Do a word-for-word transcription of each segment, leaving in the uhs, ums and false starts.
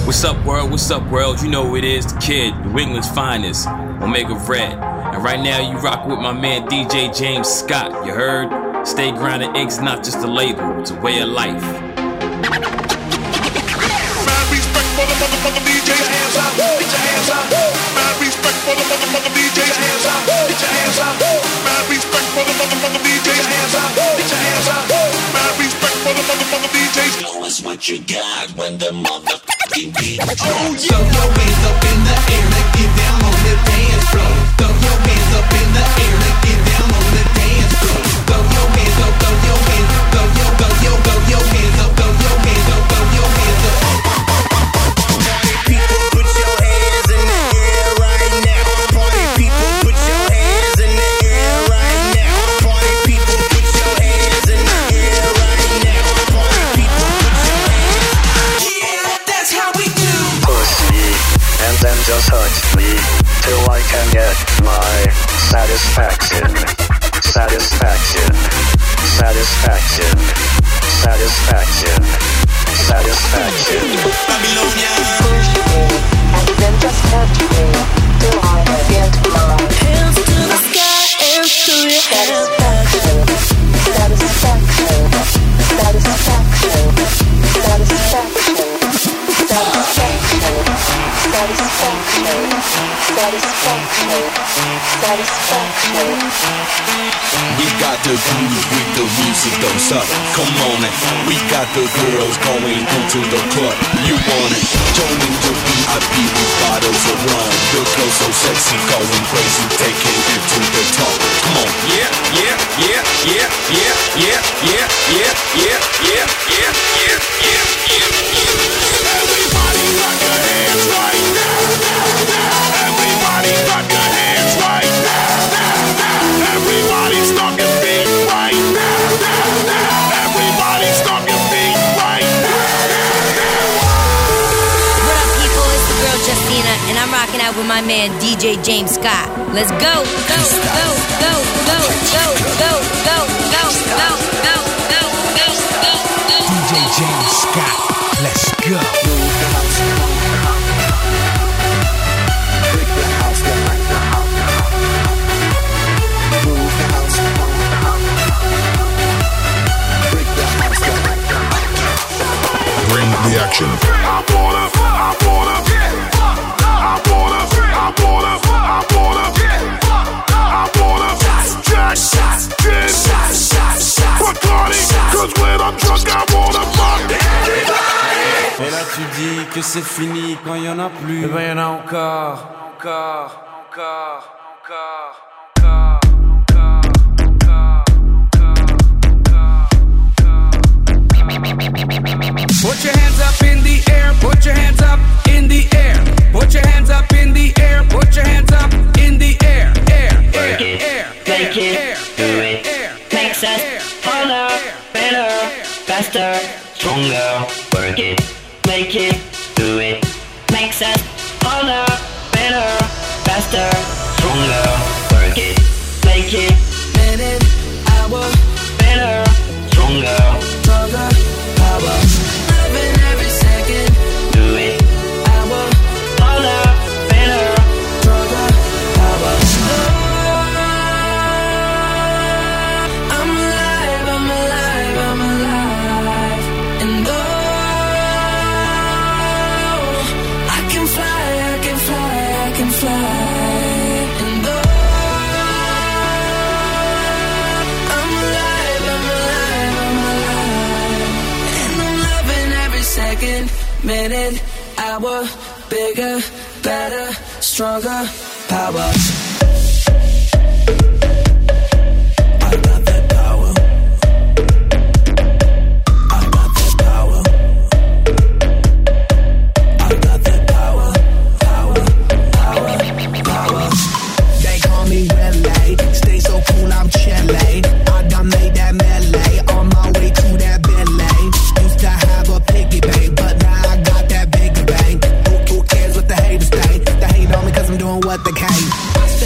What's up, world? What's up, world? You know who it is, the kid, New England's finest, Omega Red. And right now, you rock with my man D J James Scott. You heard? Stay grounded, Incorporated's not just a label, it's a way of life. Mad respect for the motherfucking D Js. Get your hands up, get your hands up. Mad respect for the motherfucking D Js. Get your hands up, get your hands up. Mad respect for the motherfucking D Js. Get your hands up, get your hands up. Mad respect for the motherfucking D Js. Show us what you got when the motherfucking beat. Oh, yeah. Throw your hands up in the air and get down on the dance floor. Throw your hands up in the air and get down on the dance floor. Throw your hands up, throw your hands up, throw your, throw your, throw your hands up, throw your hands up, throw your hands up. Party people, put your hands in the air right now. Party people, put your hands in the air right now. Party people, put your hands in the air right now. Party people, put your hands. Yeah, that's how we do. Push me, and then just hurt me till I can get my satisfaction. Satisfaction. Satisfaction. Satisfaction. Satisfaction. Babylonia. Push me, and then just hurt me till I get my hands to the sky and to your satisfaction. Satisfaction. Satisfaction. Satisfaction. Satisfaction. Satisfaction. Satisfaction. Satisfaction. We got the groove with the music, don't stop. Come on it. We got the girls going into the club. You want it? Joining the V I P with bottles of rum. The girls so sexy, going crazy, taking it to the top. Come on. Yeah, yeah, yeah, yeah, yeah, yeah, yeah, yeah, yeah, yeah, yeah, yeah, yeah, yeah. Everybody clap your hands right now. Everybody clap your hands right now. Everybody stomp your feet right now. Everybody stomp your feet right now. What up, people? It's the girl Justina, and I'm rocking out with my man D J James Scott. Let's go, go, go, go, go, go, go, go, go, go, go, go, go, go, go. D J James Scott, let's go. Bring the action. I bought up, I bought up, I bought up, I bought up, I bought up, I bought up, Jack, gin, Bacardi, cause when I'm drunk I wanna fuck everybody. Et là tu dis que c'est fini quand y'en a plus. Et ben y'en a encore, encore, encore, encore. Put your hands up in the air, put your hands up in the air. Put your hands up in the air, put your hands up in the air. Air, air, it, air, make air, it, air, do air, it, air, makes air, us air, harder, air, better, air, faster, stronger. Work it, make it, do it, makes us harder, better, faster, stronger. Work it, make it, Minute, hour, better, stronger. stronger, power. Living every second, Do it, hour, harder, better. stronger, power. I'm alive, I'm alive, I'm alive. And oh, I can fly, I can fly, I can fly. And oh, I'm alive, I'm alive, I'm alive. And I'm loving every second, minute, hour, bigger, better, stronger, power. I got that power. I got that power. I got that power. Power, power, power. They call me Relay. Stay so cool, I'm Chile. I done made that melee on my way to that Bentley. Used to have a piggy bank, but now I got that bigger bank. Who, who cares what the haters think? They hate on me cause I'm doing what they can.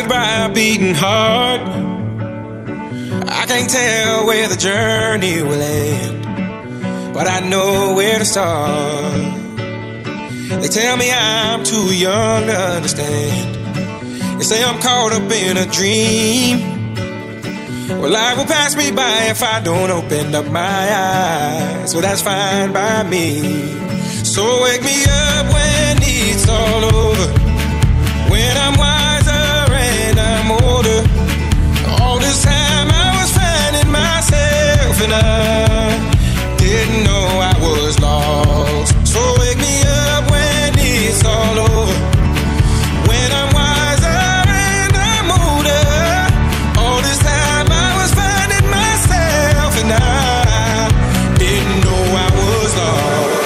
surrounded by a beating heart. I can't tell where the journey will end, but I know where to start. They tell me I'm too young to understand. They say I'm caught up in a dream. Well, life will pass me by if I don't open up my eyes. Well, that's fine by me. So wake me up when it's all over, when I'm wiser and I'm older. All this time I was finding myself and I didn't know I was lost. So wake me up when it's all over, when I'm wiser and I'm older. All this time I was finding myself and I didn't know I was lost.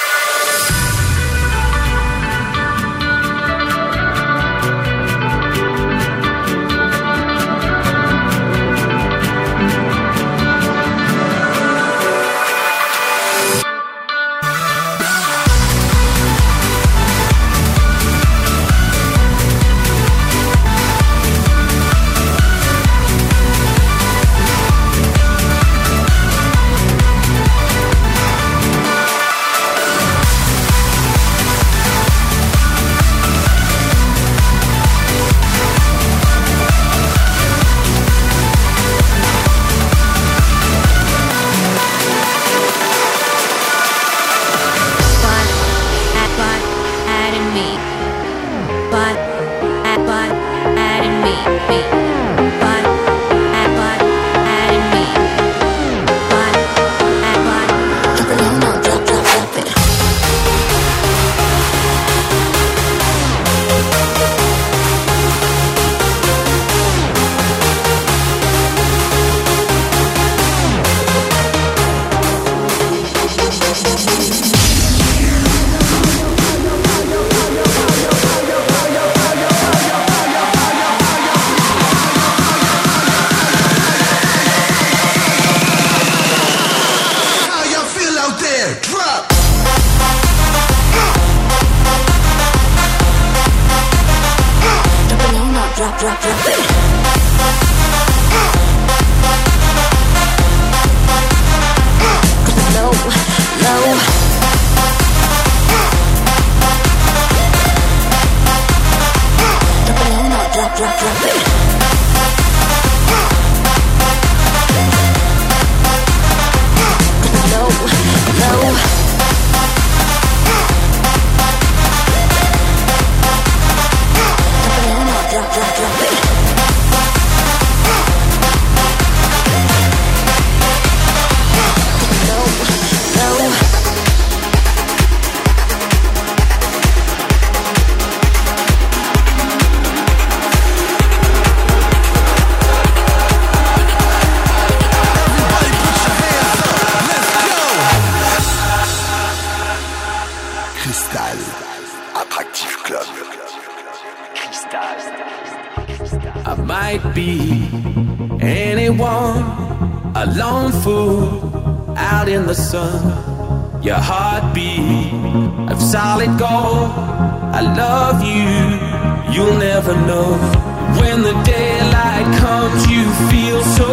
Your heartbeat of solid gold. I love you, you'll never know. When the daylight comes, you feel so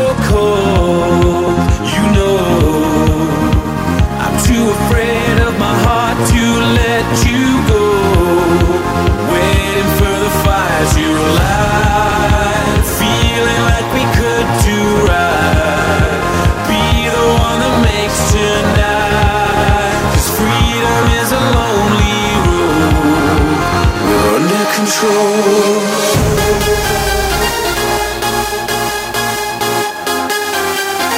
cold. You know, I'm too afraid of my heart to let you go. Waiting for the fires you light, feeling like we could do right. Be the one that makes tonight. Freedom is a lonely road. We're under control.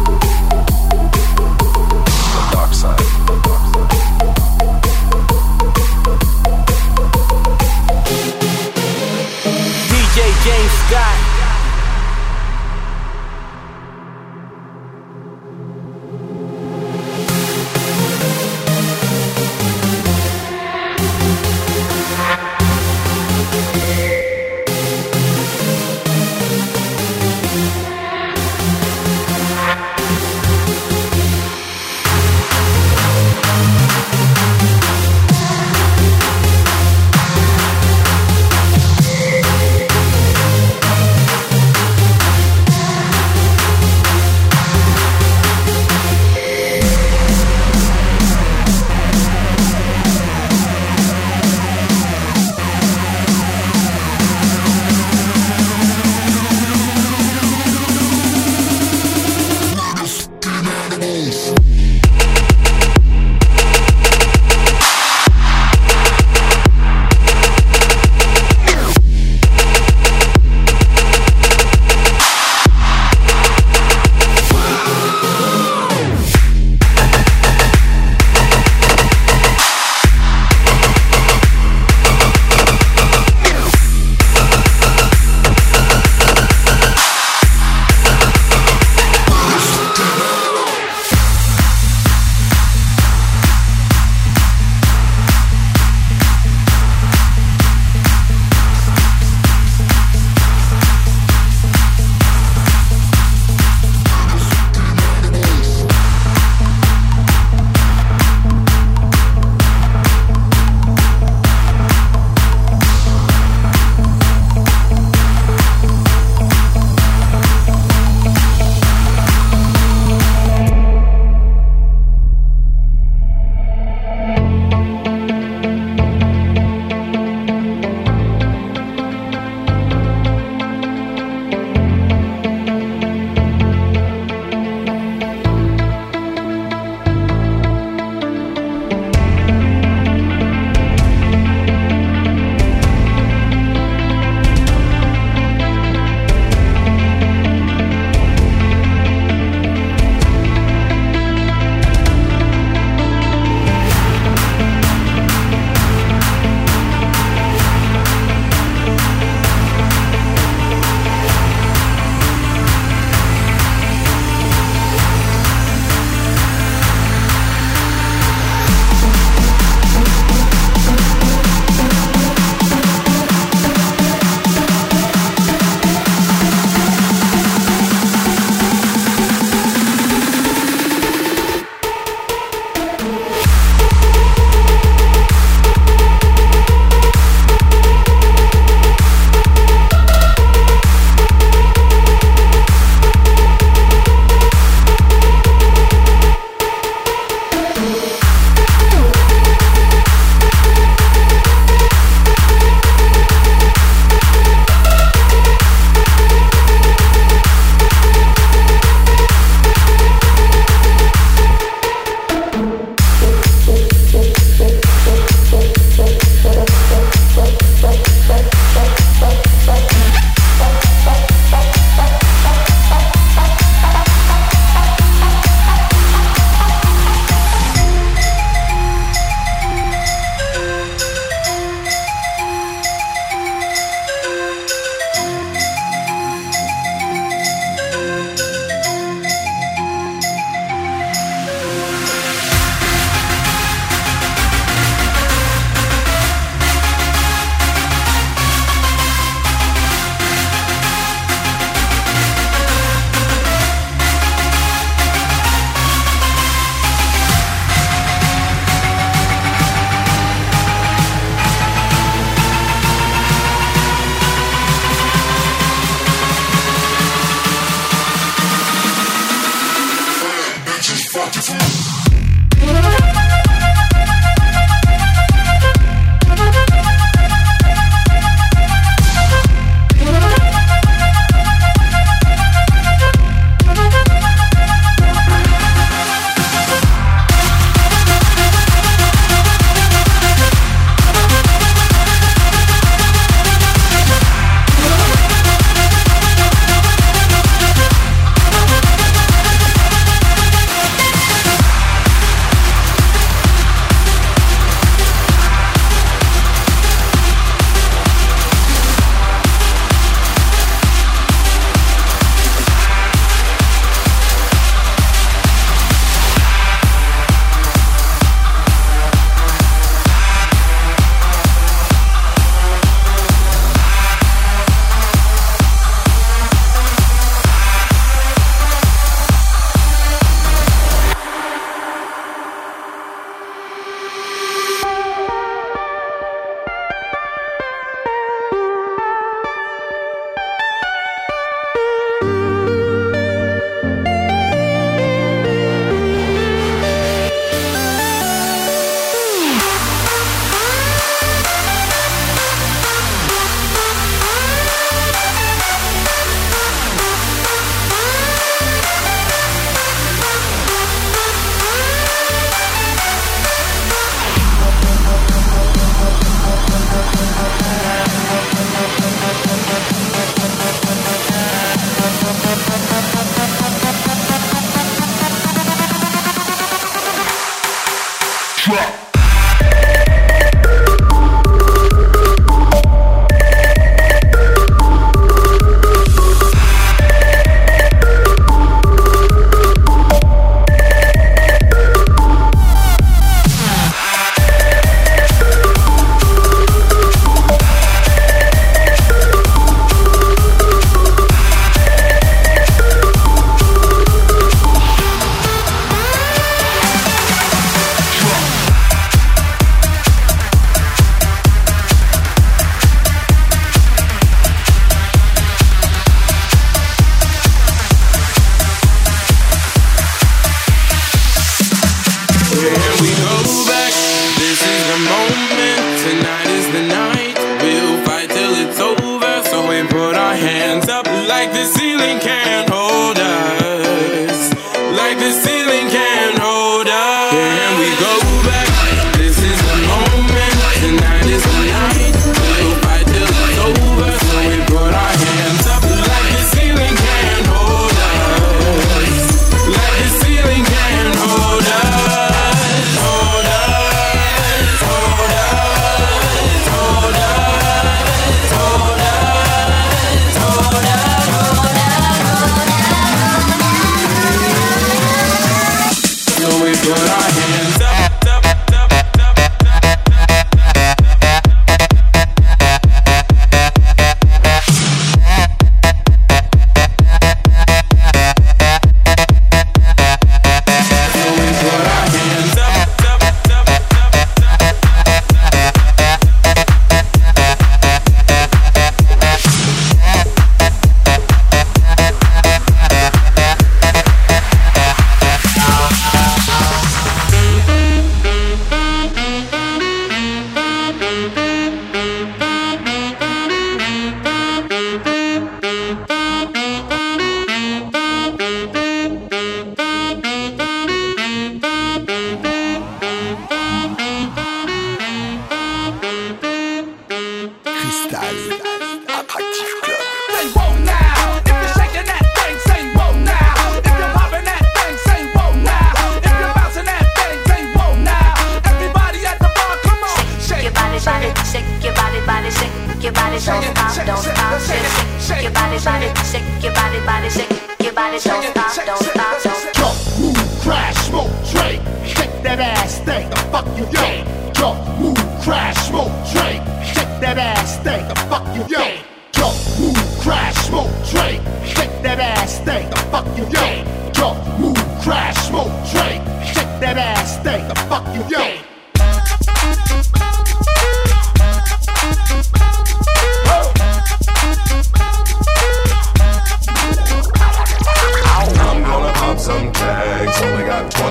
twenty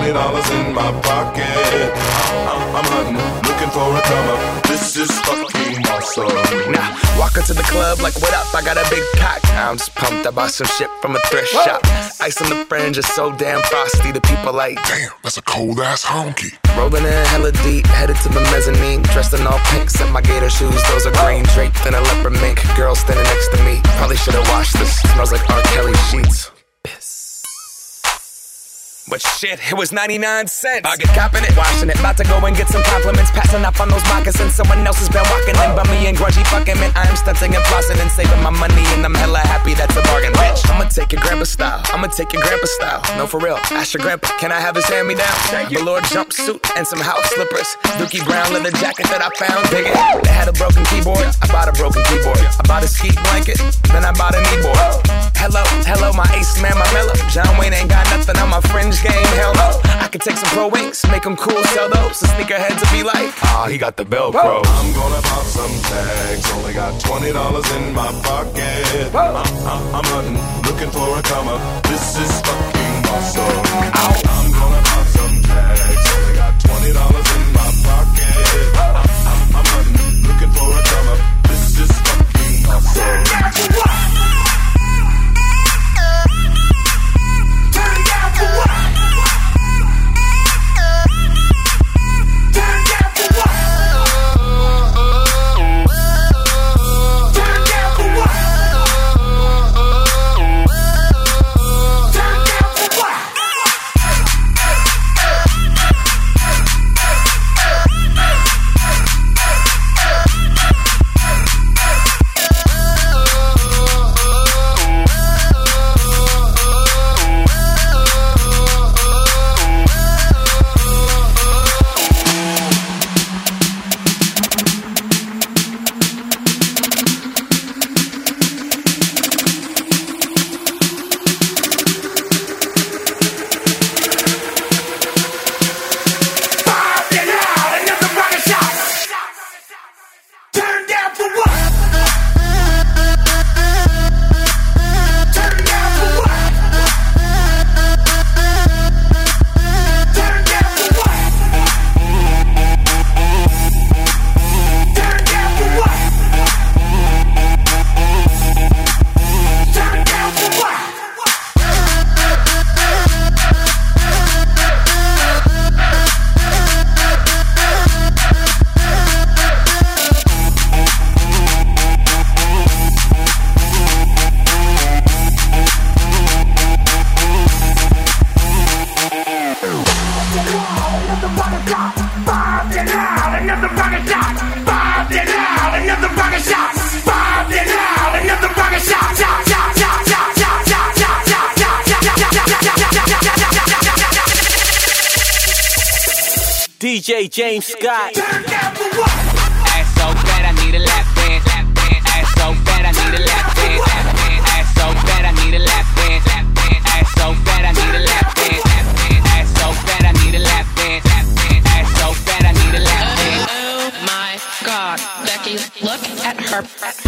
twenty dollars in my pocket. I'm, I'm hunting, looking for a come up. This is fucking awesome. Now, walk into the club like, what up? I got a big pack. I'm just pumped. I bought some shit from a thrift Whoa. shop. Ice on the fringe is so damn frosty. The people like, damn, that's a cold ass honky. Rolling in hella deep, headed to the mezzanine. Dressed in all pink, set my gator shoes. Those are green, draped in a leopard mink. Girl standing next to me. Probably should've washed this. Smells like R. Kelly sheets. But shit, it was ninety-nine cents. I get copping it, washing it. About to go and get some compliments. Passing up on those moccasins. Someone else has been walking in by me and grudgy fucking man. I am stunting and flossing and saving my money. And I'm hella happy that's a bargain, bitch. I'ma take your grandpa style. I'ma take your grandpa style. No, for real. Ask your grandpa, can I have his hand me down? Velour jumpsuit and some house slippers. Dookie brown leather jacket that I found. Dig it. They had a broken keyboard. I bought a broken keyboard. I bought a ski blanket. Then I bought a kneeboard. Hello, hello, my ace man, my mellow. John Wayne ain't got nothing on my fringe game. Hell no. I could take some pro wings, make them cool, sell those. The sneakerheads will be like, ah, oh, he got the Velcro. I'm gonna pop some tags. Only got twenty dollars in my pocket. I'm, I'm, I'm hunting, looking for a come up. This is fucking awesome. Ow. I'm gonna pop some tags. Only got twenty dollars in my pocket. I'm, I'm, I'm hunting, looking for a come up. This is fucking awesome. D J James Scott. Ass so fat, I need a lap dance. Ass so fat, I need a lap dance. Ass so fat, I need a lap dance. Ass so fat, I need a lap dance. Ass so fat, I need a lap dance. Ass so fat, I need a lap dance. Oh my God, Becky, look at her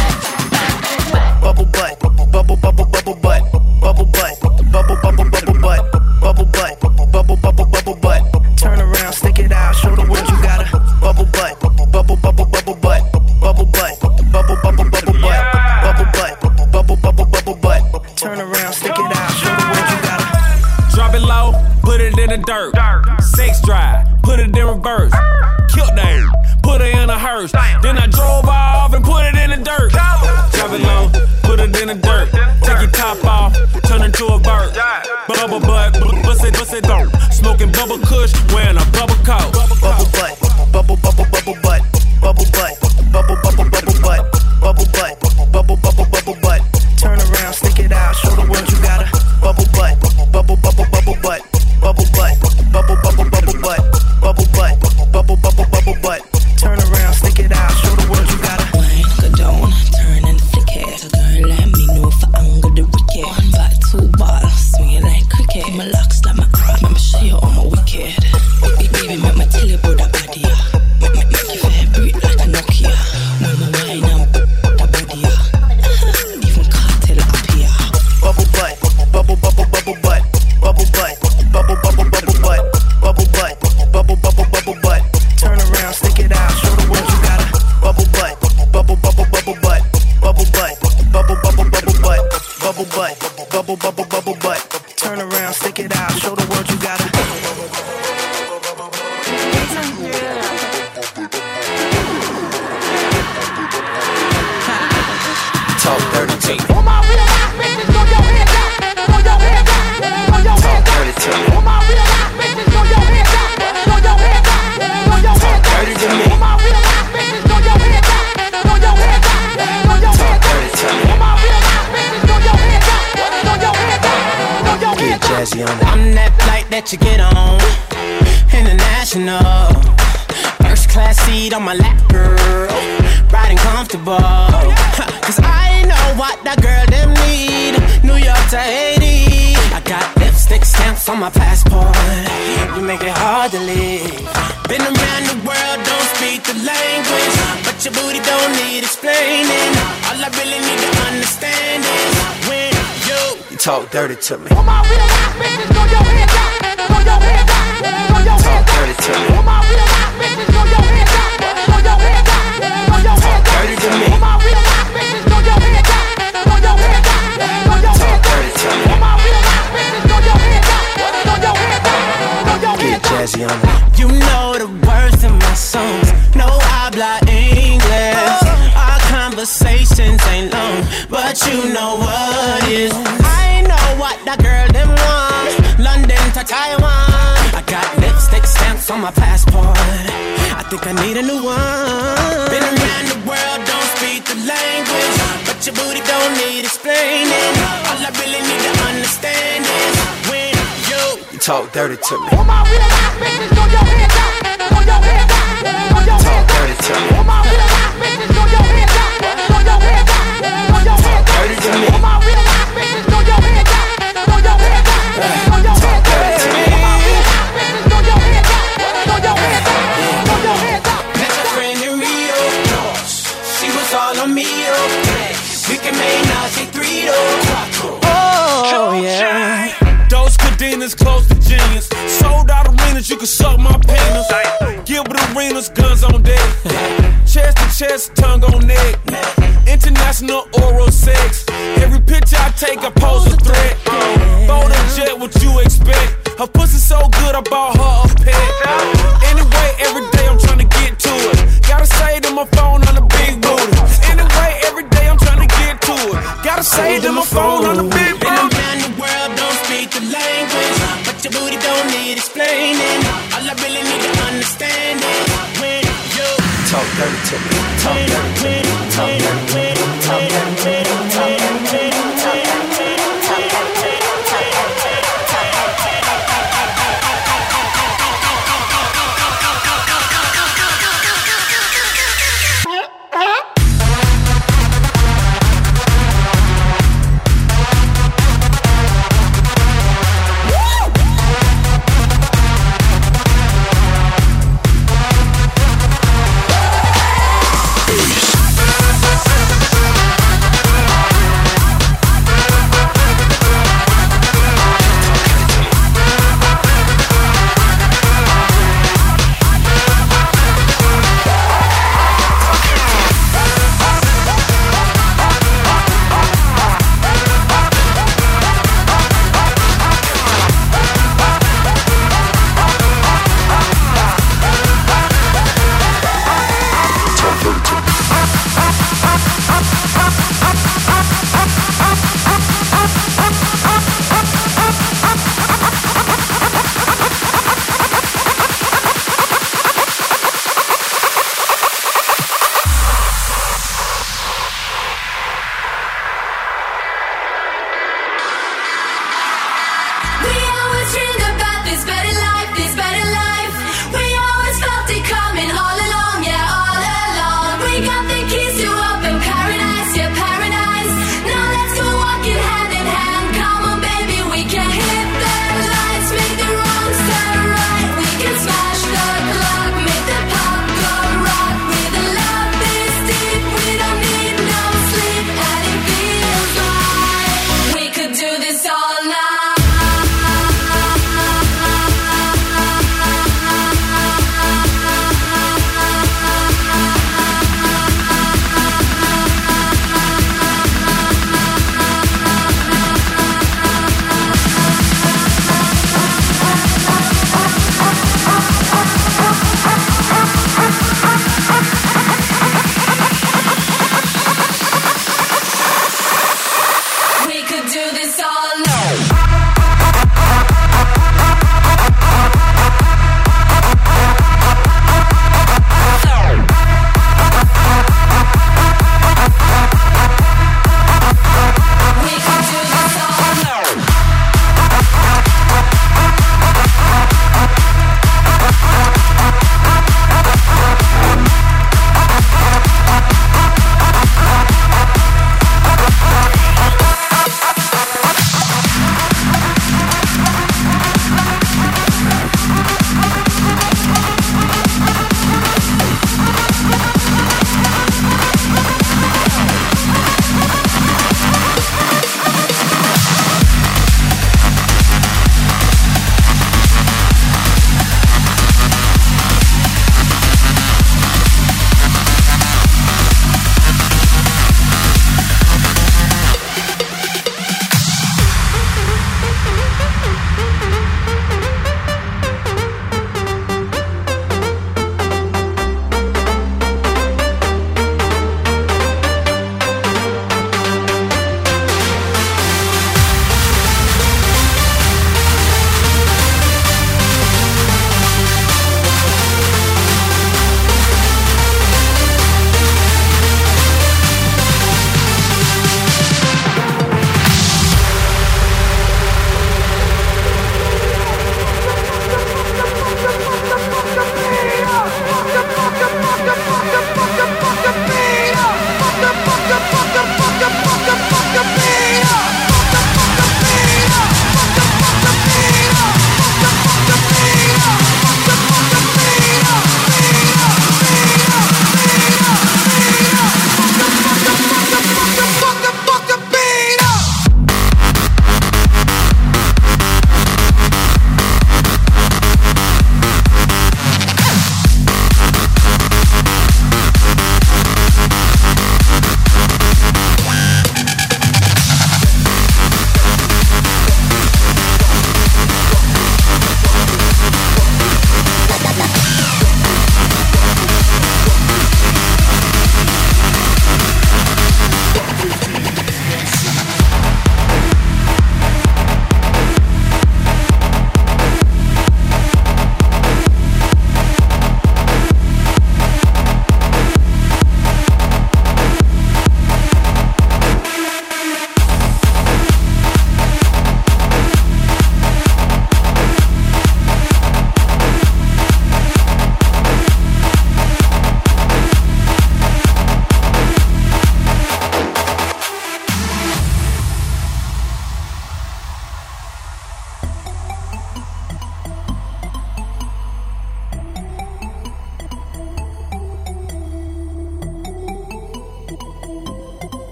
bubble butt, bubble bubble bubble butt, bubble butt, bubble bubble bubble butt, bubble butt, bubble bubble bubble butt. Turn around, stick it out, show the world you got a bubble butt, bubble bubble bubble butt, bubble butt, bubble bubble bubble butt, bubble butt, bubble bubble bubble butt. Turn around, stick it out, show the world you got a. Drop it low, put it in the dirt. Sex drive, put it in reverse. Killed them, put it in a hearse. Then I drove off and put it in the dirt. Drop it low, put it in the dirt. Take your top off, turn into a bird. Bubble butt, bust it, bust it dope. Smoking bubble kush, wearing a bubble coat. Bubble butt, bubble bubble bubble butt, bubble butt, bubble bubble bubble butt, bubble butt, bubble bubble bubble butt. Turn around, stick it out, show the world you got a bubble butt, bubble bubble bubble butt, bubble butt, bubble bubble bubble butt, bubble butt, bubble bubble bubble butt. Turn around, stick it out, show the world you got a. Wine, go down, turn and flick it. So girl, let me know if I angle the wicked. One back, two ball, swing it like cricket. My locks like my crop, let me show you all my wicked. Baby, make my tell you about that body, yeah. Make, make, make you vibrate like a Nokia. When my bet you get on. International. First class seat on my lap, girl. Riding comfortable. Cause I know what that girl them need. New York to Haiti. I got lipstick stamps on my passport. You make it hard to leave. Been around the world, don't speak the language, but your booty don't need explaining. All I really need to understand is when you, you talk dirty to me. All my real life bitches, throw your hands up. Throw your hands up. Throw your hands up. Talk dirty to me. All my real life bitches, throw your hands up. Throw your hands up. Throw your hands up. Talk dirty to me. All my real life bitches, throw your hands up. Throw your hands up. Throw your hands up. Talk dirty to me. All my real life bitches, throw your hands up. Throw your hands up. Throw your hands up. Get jazzy on me. You know the words in my songs. No habla English. Our conversations ain't long, but you know what is. I know what that girl them want. London to Taiwan. I got lipstick stamps on my passport. I think I need a new one. Been around the world, don't speak the language, but your booty don't need explaining. All I really need to understand is when you, you talk dirty to me. All my real life bitches, throw your hands up. Throw your hands up. Throw your hands up. Talk dirty to me. All my real life bitches, throw your hands up. Throw your hands up. Throw your hands up. Talk dirty to me. All my real life bitches, throw your hands up. Throw your hands up. Throw your hands up. Talk dirty to me. All my real life bitches, throw your hands up. Throw your hands up. Throw your hands up. Met a friend in Rio. She was all on me. We can make now say three to oh yeah. Those cadenas close to genius. Sold out arenas, you can suck my penis. Gilbert arenas, guns on deck. Chest to chest, tongue on neck. International oral sex. Every picture I take, I pose a threat. Bold and jet, what you expect? Her pussy so good, I bought her a pet. Anyway, every day I'm trying to get to it. Gotta say to my phone on the big booty. Anyway, every day I'm trying to get to it. Gotta say to my phone on the big booty. Been around the world, don't speak the language, but your booty don't need explaining. All I really need to understand is when you talk dirty to me. Talk dirty to me. Talk dirty to me. Talk dirty to me. Talk dirty to me.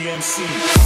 M C.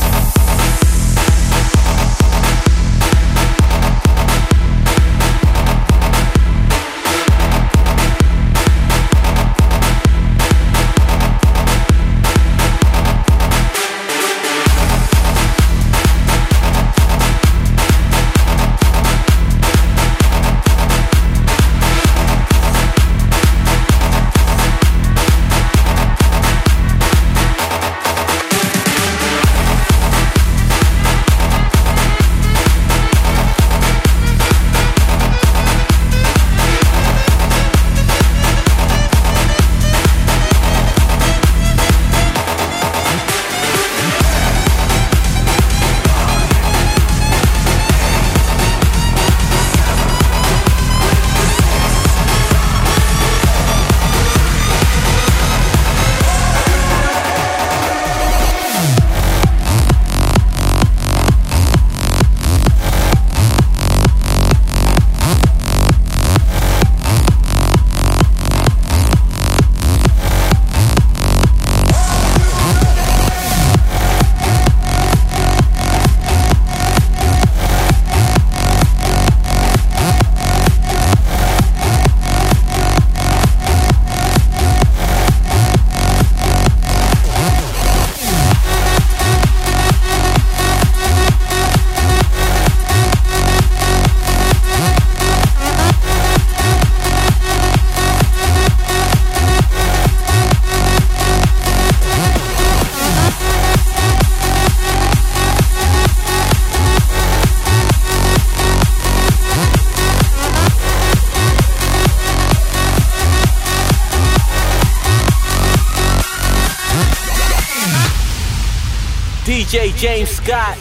D J James Scott.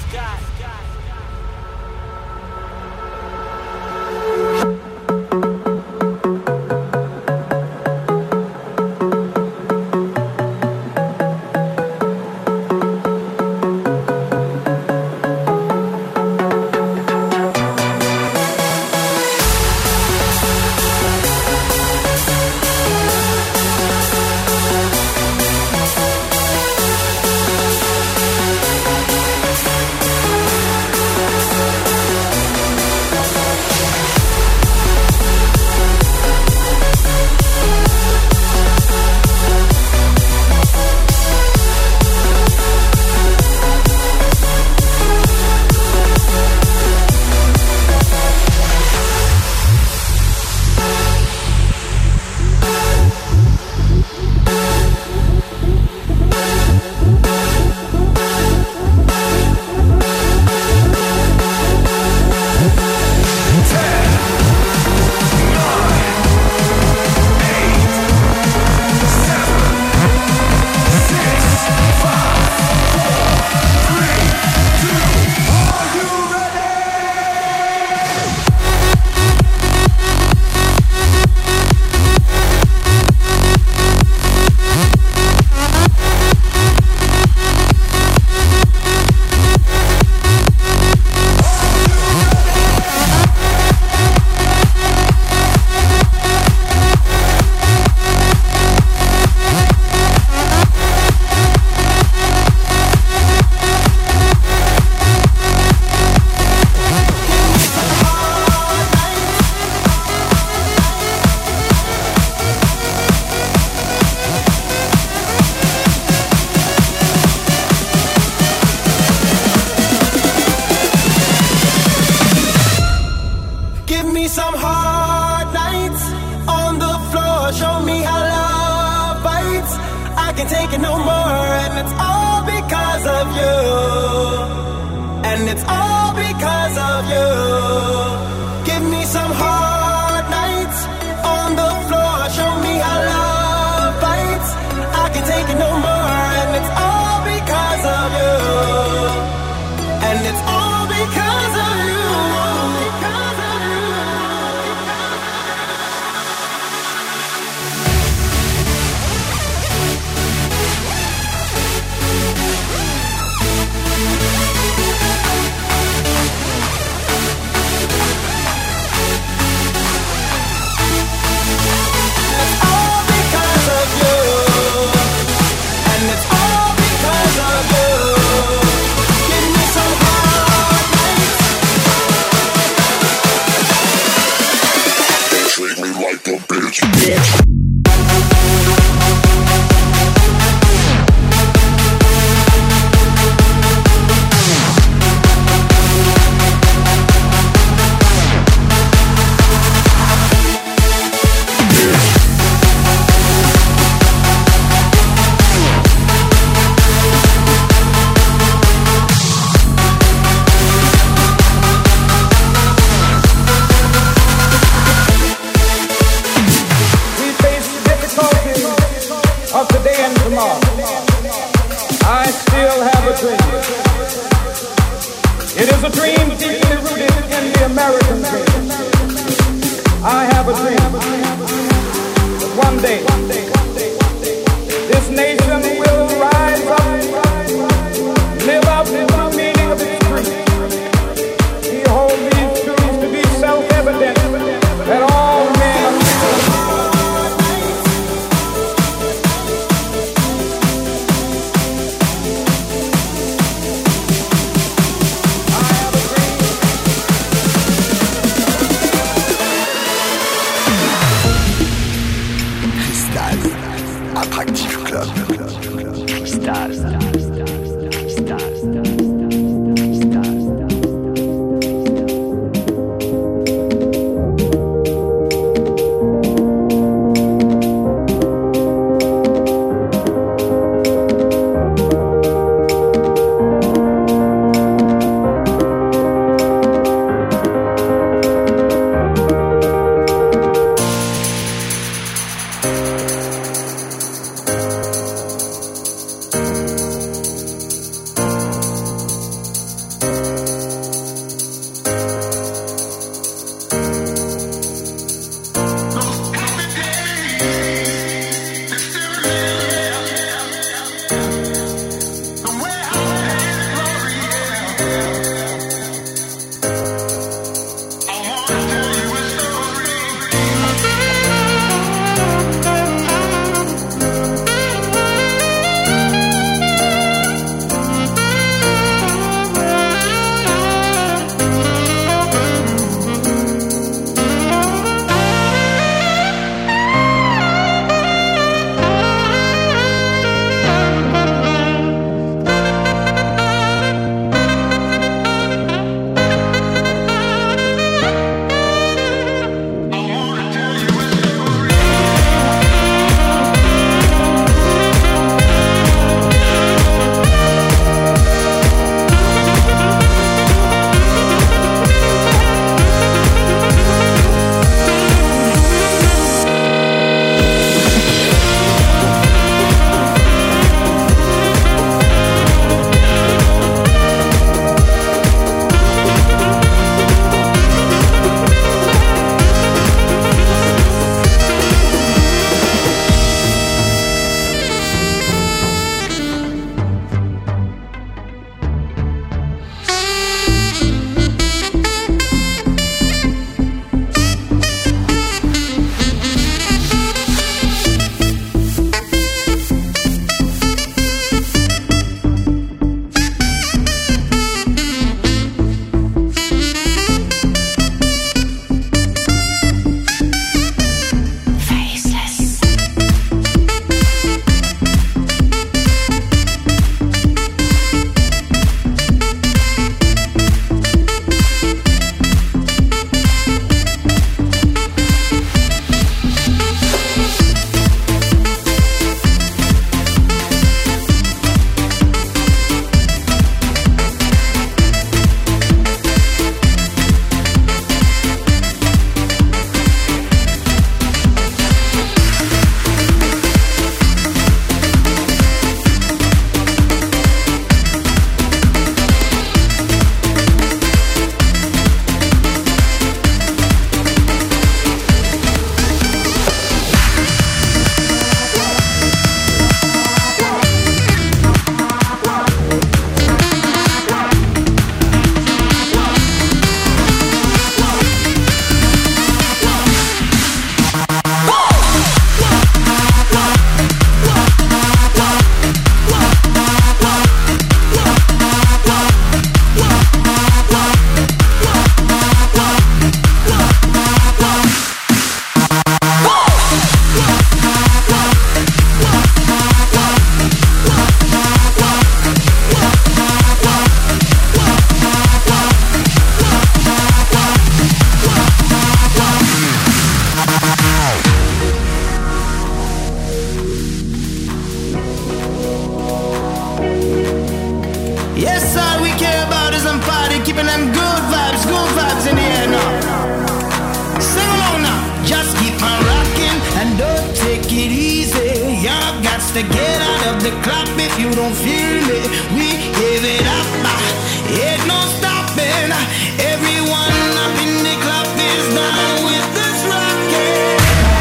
got to get out of the club if you don't feel it. We give it up, ain't no stopping. Everyone up in the club is down with this rockin'.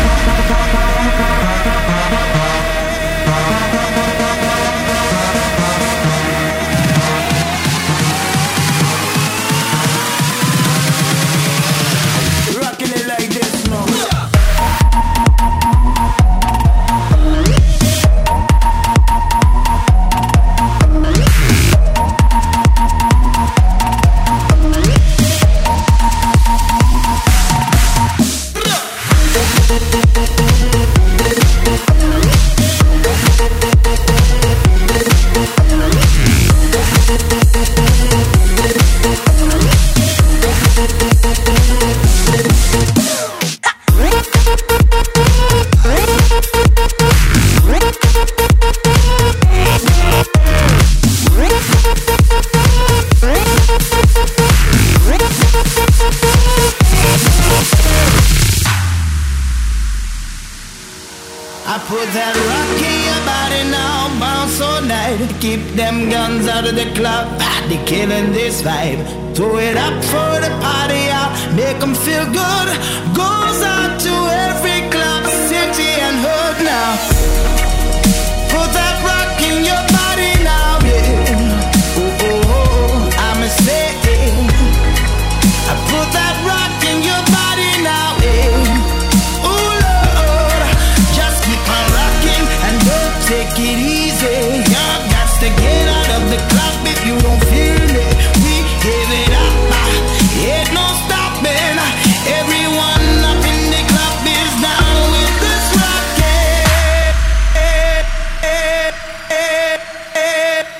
Rockin' it like this now. I put that rock in your body now, bounce all night. Keep them guns out of the club, they killing this vibe. Throw it up for the party out, make them feel good. Goes out to every club, city and hood now. Put that rock in your body now, yeah. Oh, oh, oh, I'ma say it. I put that rock in your body now, yeah. Take it easy, y'all got to get out of the club if you don't feel it. We give it up, ain't no stopping. Everyone up in the club is down with this rocket.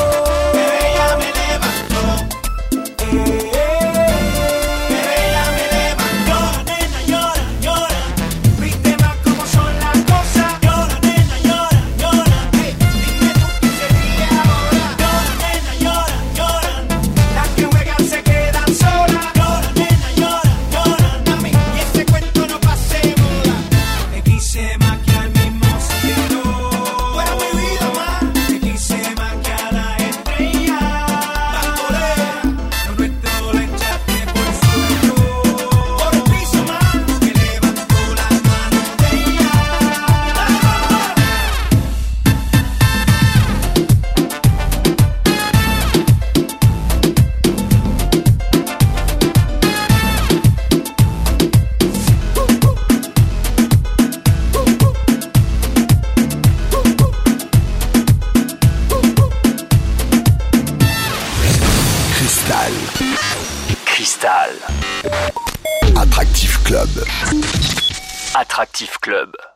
Cristal. Attractif Club. Attractif Club.